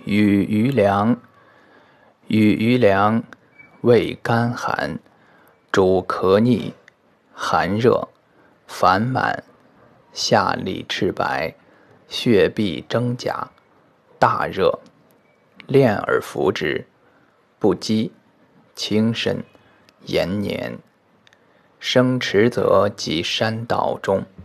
与余粮，味甘寒，主咳逆，寒热，烦满，下利赤白，血闭真甲，大热，炼而服之，不饥，轻身，延年。生迟则及山道中。